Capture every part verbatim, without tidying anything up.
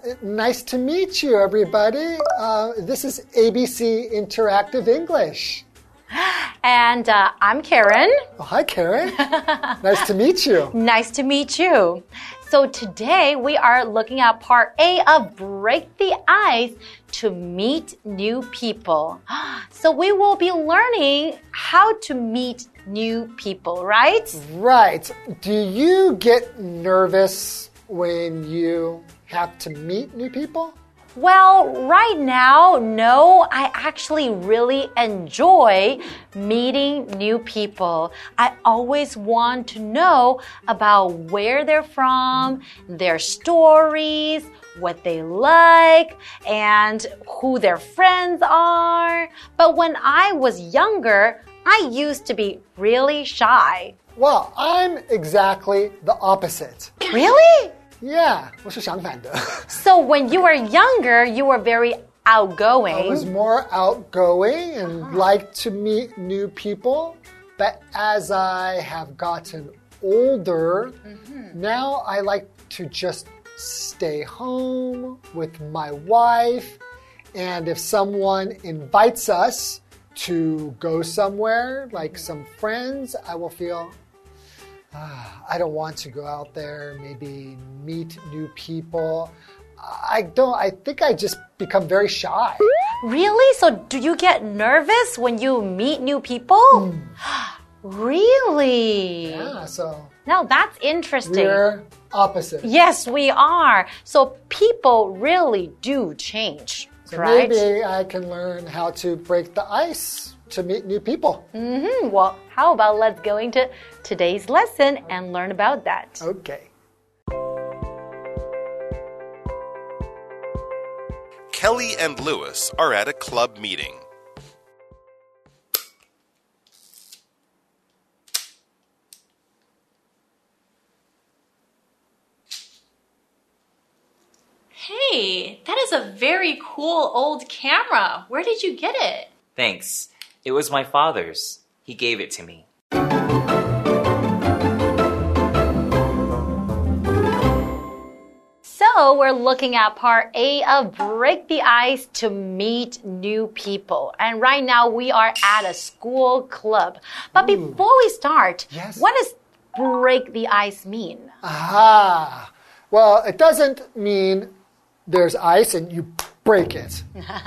nice to meet you, everybody. Uh, this is A B C Interactive English. And uh, I'm Karen. Oh, hi, Karen. Nice to meet you. Nice to meet you. So today we are looking at part A of Break the Ice to meet new people. So we will be learning how to meet new people, right? Right. Do you get nervous when you have to meet new people? Well, right now, no, I actually really enjoy meeting new people. I always want to know about where they're from, their stories, what they like, and who their friends are. But when I was younger, I used to be really shy. Well, I'm exactly the opposite. Really? Yeah, 我是相反的. So when you were younger, you were very outgoing. I was more outgoing and liked to meet new people. But as I have gotten older, mm-hmm. now I like to just stay home with my wife. And if someone invites us to go somewhere, like some friends, I will feel... I don't want to go out there, maybe meet new people. I don't, I think I just become very shy. Really? So do you get nervous when you meet new people? Mm. Really? Yeah, so. No, that's interesting. We're opposite. Yes, we are. So people really do change, so right? Maybe I can learn how to break the ice to meet new people. Mm-hmm. Well, how about let's go into today's lesson and learn about that. Okay. Kelly and Lewis are at a club meeting. Hey, that is a very cool old camera. Where did you get it? Thanks. It was my father's. He gave it to me. So we're looking at part A of Break the Ice to meet new people. And right now we are at a school club. But Ooh. Before we start, yes. What does break the ice mean? Aha! Well, it doesn't mean there's ice and you break it.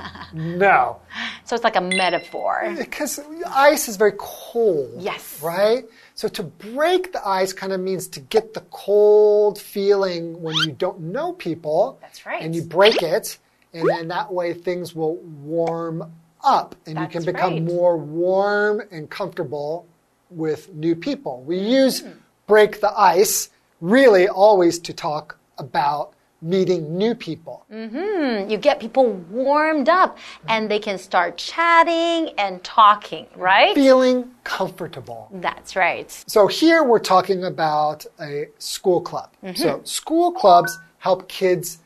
No. So it's like a metaphor. Because ice is very cold. Yes. Right? So to break the ice kind of means to get the cold feeling when you don't know people. That's right. And you break it, and then that way things will warm up. And That's you can become right. more warm and comfortable with new people. We use mm. break the ice really always to talk about meeting new people. Mm-hmm. You get people warmed up and they can start chatting and talking, right? Feeling comfortable. That's right. So here we're talking about a school club. Mm-hmm. So school clubs help kids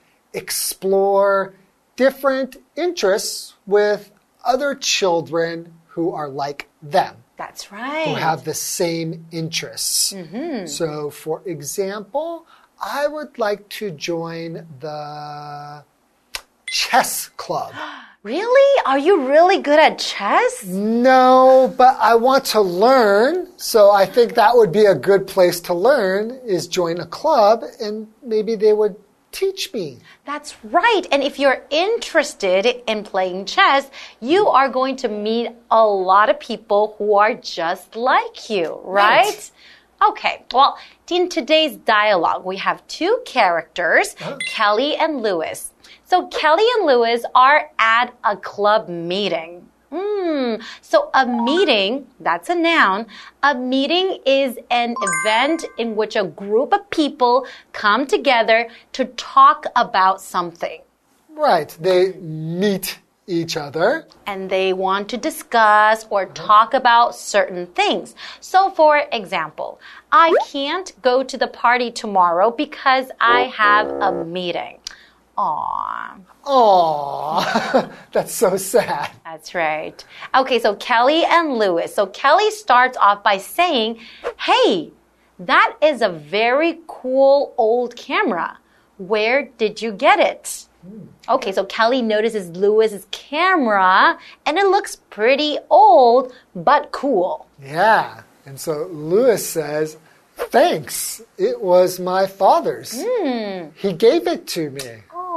explore different interests with other children who are like them. That's right. Who have the same interests. Mm-hmm. So for example, I would like to join the chess club. Really? Are you really good at chess? No, but I want to learn. So I think that would be a good place to learn is join a club and maybe they would teach me. That's right. And if you're interested in playing chess, you are going to meet a lot of people who are just like you, right? Right. Okay, well, in today's dialogue, we have two characters, oh. Kelly and Lewis. So Kelly and Lewis are at a club meeting. Mm, so a meeting, that's a noun. A meeting is an event in which a group of people come together to talk about something. Right, they meet each other. And they want to discuss or talk about certain things. So for example, I can't go to the party tomorrow because I have a meeting. Aww. Aww. That's so sad. That's right. Okay, so Kelly and Lewis. So Kelly starts off by saying, hey, that is a very cool old camera. Where did you get it? Okay, so Kelly notices Louis's camera, and it looks pretty old, but cool. Yeah, and so Louis says, thanks, it was my father's. Mm. He gave it to me.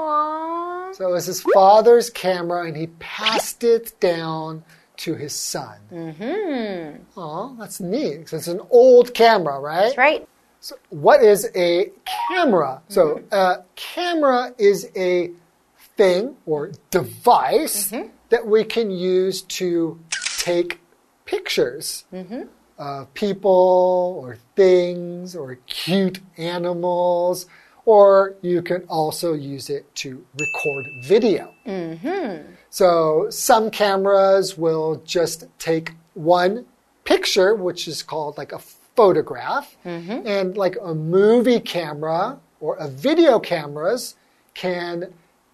Aww. So it was his father's camera, and he passed it down to his son. Mm-hmm. Oh, that's neat. So it's an old camera, right? That's right. So what is a camera? So a camera is a thing or device mm-hmm. that we can use to take pictures mm-hmm. of people or things or cute animals, or you can also use it to record video. Mm-hmm. So some cameras will just take one picture, which is called like a photograph, mm-hmm. and like a movie camera or a video cameras can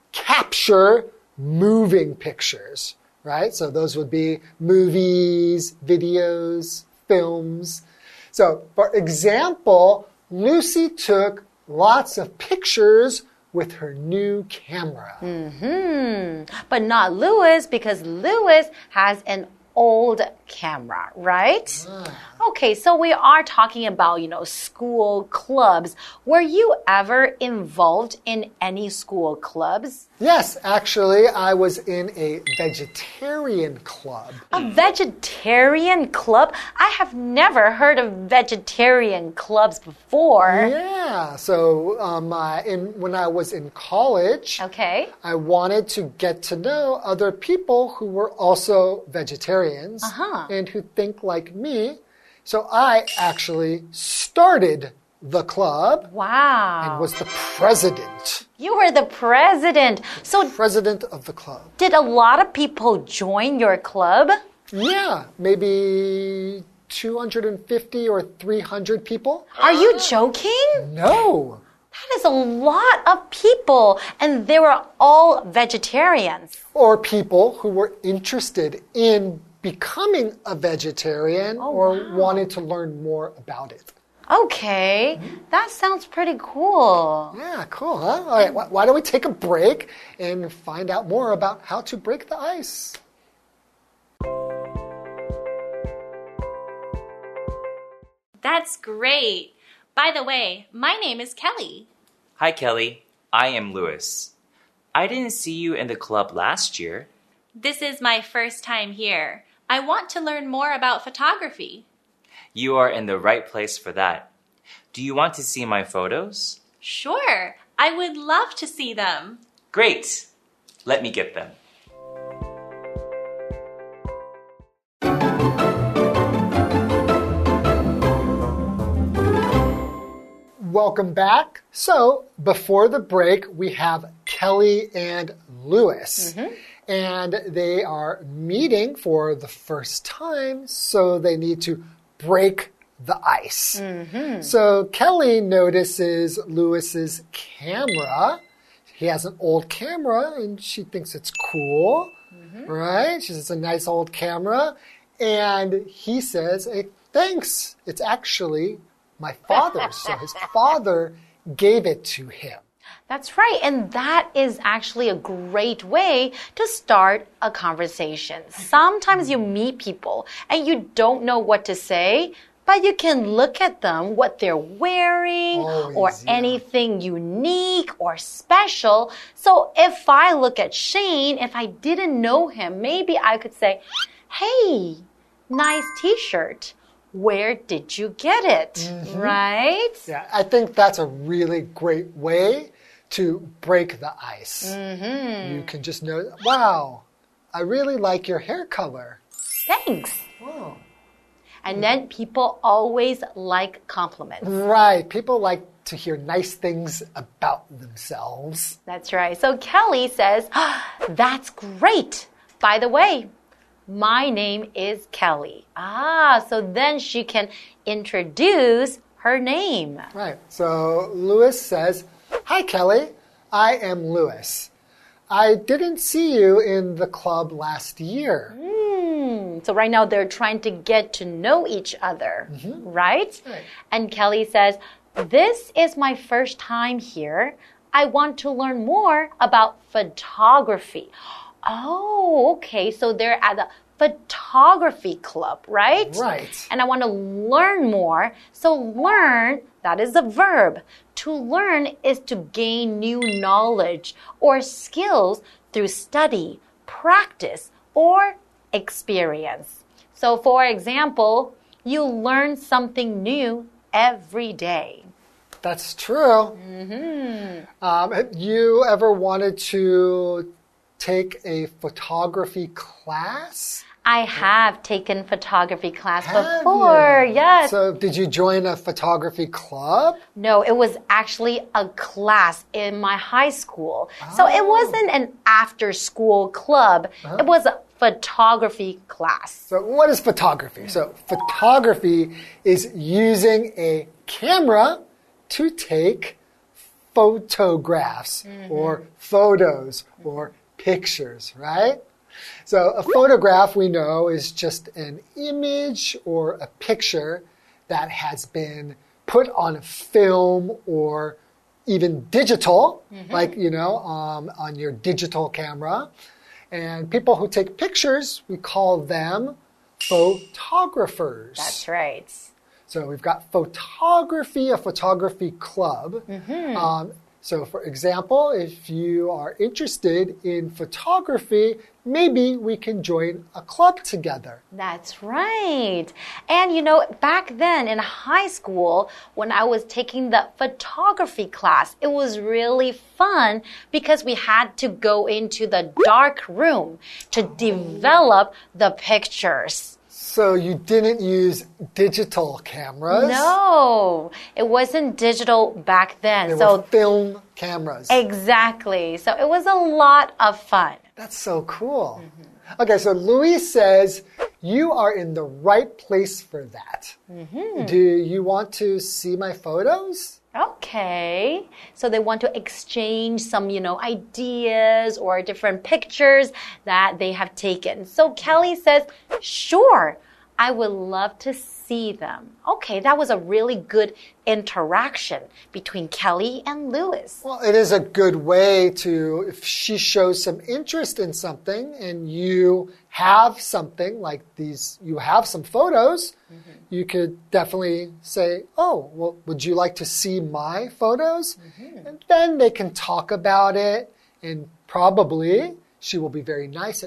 capture moving pictures, right? So those would be movies, videos, films. So for example, Lucy took lots of pictures with her new camera. Mm-hmm. But not Louis, because Louis has an old camera, right? Ah. Okay, so we are talking about, you know, school clubs. Were you ever involved in any school clubs? Yes, actually, I was in a vegetarian club. A vegetarian club? I have never heard of vegetarian clubs before. Yeah, so um, I, in, when I was in college, okay. I wanted to get to know other people who were also vegetarians uh-huh. and who think like me. So I actually started the club wow. and was the president. You were the president. So president of the club. Did a lot of people join your club? Yeah, maybe two hundred fifty or three hundred people. Are you joking? No. That is a lot of people, and they were all vegetarians. Or people who were interested in becoming a vegetarian oh, or wow. wanted to learn more about it. Okay, that sounds pretty cool. Yeah, cool, huh? All right, why don't we take a break and find out more about how to break the ice? That's great. By the way, my name is Kelly. Hi, Kelly. I am Louis. I didn't see you in the club last year. This is my first time here. I want to learn more about photography. You are in the right place for that. Do you want to see my photos? Sure. I would love to see them. Great. Let me get them. Welcome back. So, before the break, we have Kelly and Louis. Mm-hmm. And they are meeting for the first time, so they need to break the ice. Mm-hmm. So Kelly notices Louis's camera. He has an old camera, and she thinks it's cool, mm-hmm. right? She says it's a nice old camera. And he says, hey, thanks. It's actually my father's. So his father gave it to him. That's right. And that is actually a great way to start a conversation. Sometimes you meet people and you don't know what to say, but you can look at them, what they're wearing, Always, or yeah. anything unique or special. So if I look at Shane, if I didn't know him, maybe I could say, hey, nice t-shirt. Where did you get it? Mm-hmm. Right? Yeah, I think that's a really great way to break the ice. Mm-hmm. You can just know, wow, I really like your hair color. Thanks. Wow. And then people always like compliments. Right. People like to hear nice things about themselves. That's right. So Kelly says, oh, that's great. By the way, my name is Kelly. Ah, so then she can introduce her name. Right. So Louis says, hi, Kelly. I am Louis. I didn't see you in the club last year. Mm, so right now they're trying to get to know each other, mm-hmm. right? Right? And Kelly says, this is my first time here. I want to learn more about photography. Oh, okay. So they're at the photography club, right? Right. And I want to learn more. So learn, that is a verb. To learn is to gain new knowledge or skills through study, practice, or experience. So for example, you learn something new every day. That's true. Mm-hmm. Um, have you ever wanted to take a photography class? I have taken photography class have before, you? Yes. So did you join a photography club? No, it was actually a class in my high school. Oh. So it wasn't an after-school club. Uh-huh. It was a photography class. So what is photography? So photography is using a camera to take photographs mm-hmm. or photos or pictures, right? So a photograph, we know, is just an image or a picture that has been put on film or even digital, mm-hmm. like, you know, um, on your digital camera. And people who take pictures, we call them photographers. That's right. So we've got photography, a photography club. Mm-hmm. Um, so for example, if you are interested in photography, maybe we can join a club together. That's right. And you know, back then in high school, when I was taking the photography class, it was really fun because we had to go into the dark room to develop the pictures. So you didn't use digital cameras? No, it wasn't digital back then. They so were film cameras. Exactly. So it was a lot of fun. That's so cool. Mm-hmm. Okay, so Luis says, you are in the right place for that. Mm-hmm. Do you want to see my photos? Okay. So they want to exchange some, you know, ideas or different pictures that they have taken. So Kelly says, sure, I would love to see them. Okay, that was a really good interaction between Kelly and Luis. Well, it is a good way to, if she shows some interest in something and you have something like these, you have some photos, mm-hmm. you could definitely say, oh, well, would you like to see my photos? Mm-hmm. And then they can talk about it, and probably she will be very nice at,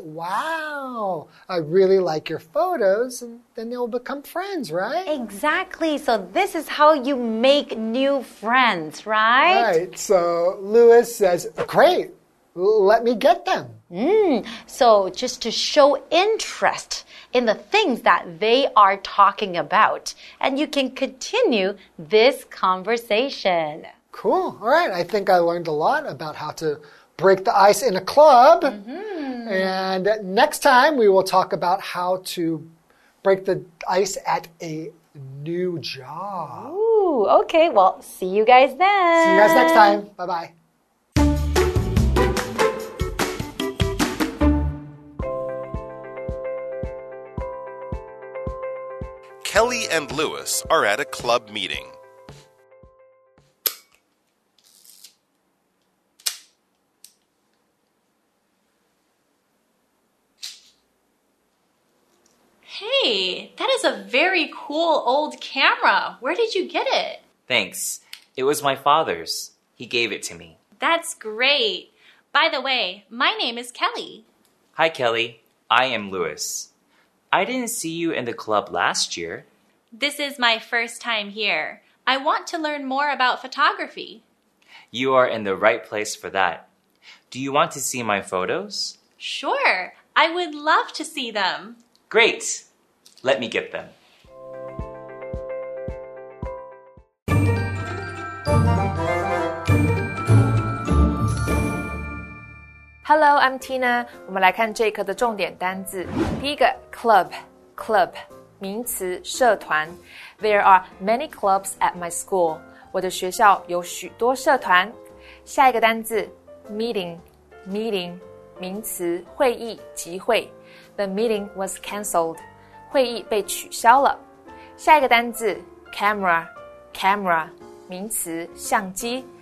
wow, I really like your photos, and then they'll become friends, right? Exactly. So this is how you make new friends, right? Right. So Luis says, great, let me get them. Mm, so just to show interest in the things that they are talking about. And you can continue this conversation. Cool. All right. I think I learned a lot about how to break the ice in a club. Mm-hmm. And next time we will talk about how to break the ice at a new job. Ooh, okay. Well, see you guys then. See you guys next time. Bye-bye. Kelly and Luis are at a club meeting. Hey, that is a very cool old camera. Where did you get it? Thanks. It was my father's. He gave it to me. That's great. By the way, my name is Kelly. Hi, Kelly. I am Luis. I didn't see you in the club last year. This is my first time here. I want to learn more about photography. You are in the right place for that. Do you want to see my photos? Sure. I would love to see them. Great. Let me get them. Hello, I'm Tina. 我们来看这一课的重点单字。第一个 club, club 名詞社團。There are many clubs at my school. 我的學校有許多社團。下一個單字 meeting, meeting 名詞會議集會。The meeting was cancelled. 會議被取消了。下一個單字 camera, camera 名詞相機。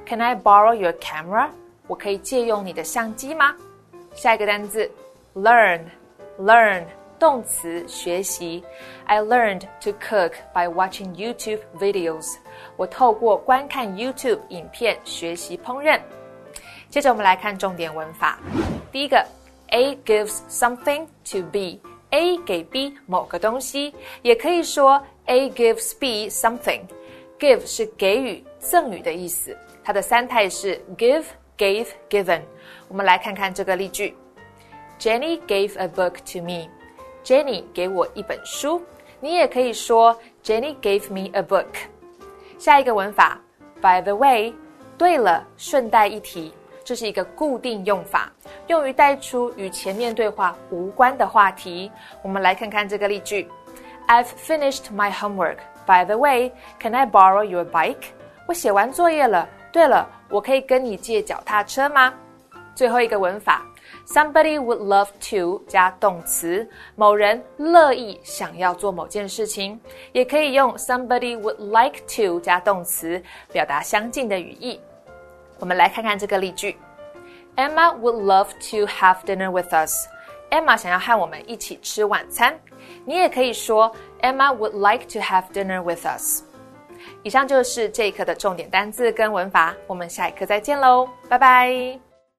Can I borrow your camera? 我可以借用你的相机嗎？下一個單字 learn learn 動詞學習 I learned to cook by watching YouTube videos. 我透過觀看 YouTube 影片學習烹飪。接着我們來看重點文法。第一個 A gives something to B. A 給 B 某個東西，也可以說 A gives B something. Give 是給予、贈予的意思，它的三態是 give, gave, given. 我們來看看這個例句。Jenny gave a book to me. Jenny 給我一本書，你也可以說 Jenny gave me a book. 下一個文法 By the way, 對了，順帶一提，這是一個固定用法，用於帶出與前面對話無關的話題。我們來看看這個例句。I've finished my homework. By the way, can I borrow your bike? 我寫完作業了。對了，我可以跟你借腳踏車嗎？最後一個文法 Somebody would love to 加動詞，某人樂意想要做某件事情，也可以用 Somebody would like to 加動詞，表達相近的語義。我們來看看這個例句。Emma would love to have dinner with us. Emma 想要和我們一起吃晚餐。你也可以說 Emma would like to have dinner with us. 以上就是這一課的重點單字跟文法，我們下一課再見嘍，拜拜。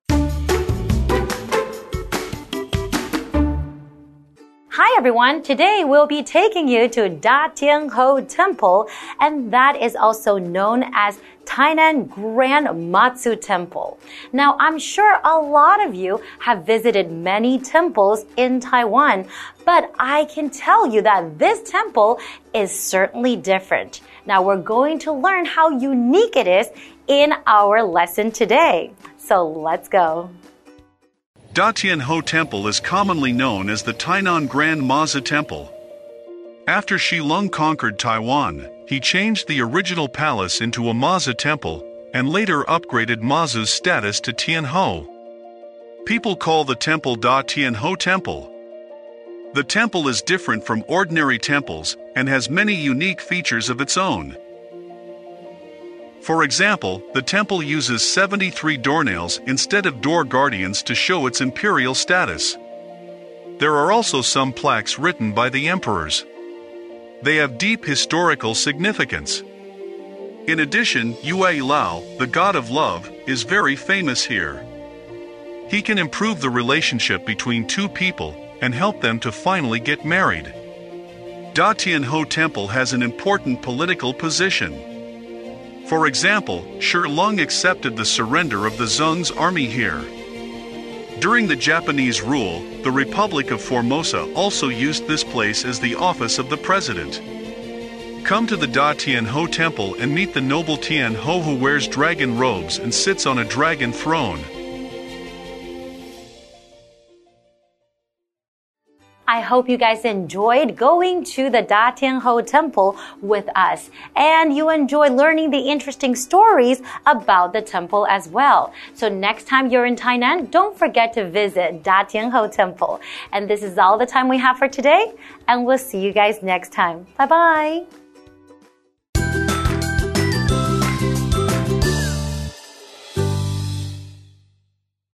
Hi everyone, today we'll be taking you to Da Tian Ho Temple, and that is also known as Tainan Grand Matsu Temple. Now, I'm sure a lot of you have visited many temples in Taiwan, but I can tell you that this temple is certainly different. Now, we're going to learn how unique it is in our lesson today. So let's go. Da Tian Ho Temple is commonly known as the Tainan Grand Mazi Temple. After Shi Lung conquered Taiwan, he changed the original palace into a Mazi temple, and later upgraded Mazi's status to Tianho. People call the temple Da Tian Ho Temple. The temple is different from ordinary temples, and has many unique features of its own. For example, the temple uses seventy-three doornails instead of door guardians to show its imperial status. There are also some plaques written by the emperors. They have deep historical significance. In addition, Yue Lao, the god of love, is very famous here. He can improve the relationship between two people and help them to finally get married. Da Tian Ho Temple has an important political position. For example, Shi Lung accepted the surrender of the Zheng's army here. During the Japanese rule, the Republic of Formosa also used this place as the office of the president. Come to the Da Tian Ho Temple and meet the noble Tian Ho who wears dragon robes and sits on a dragon throne. I hope you guys enjoyed going to the Da Tian Ho Temple with us, and you enjoyed learning the interesting stories about the temple as well. So next time you're in Tainan, don't forget to visit Da Tian Ho Temple. And this is all the time we have for today, and we'll see you guys next time. Bye-bye.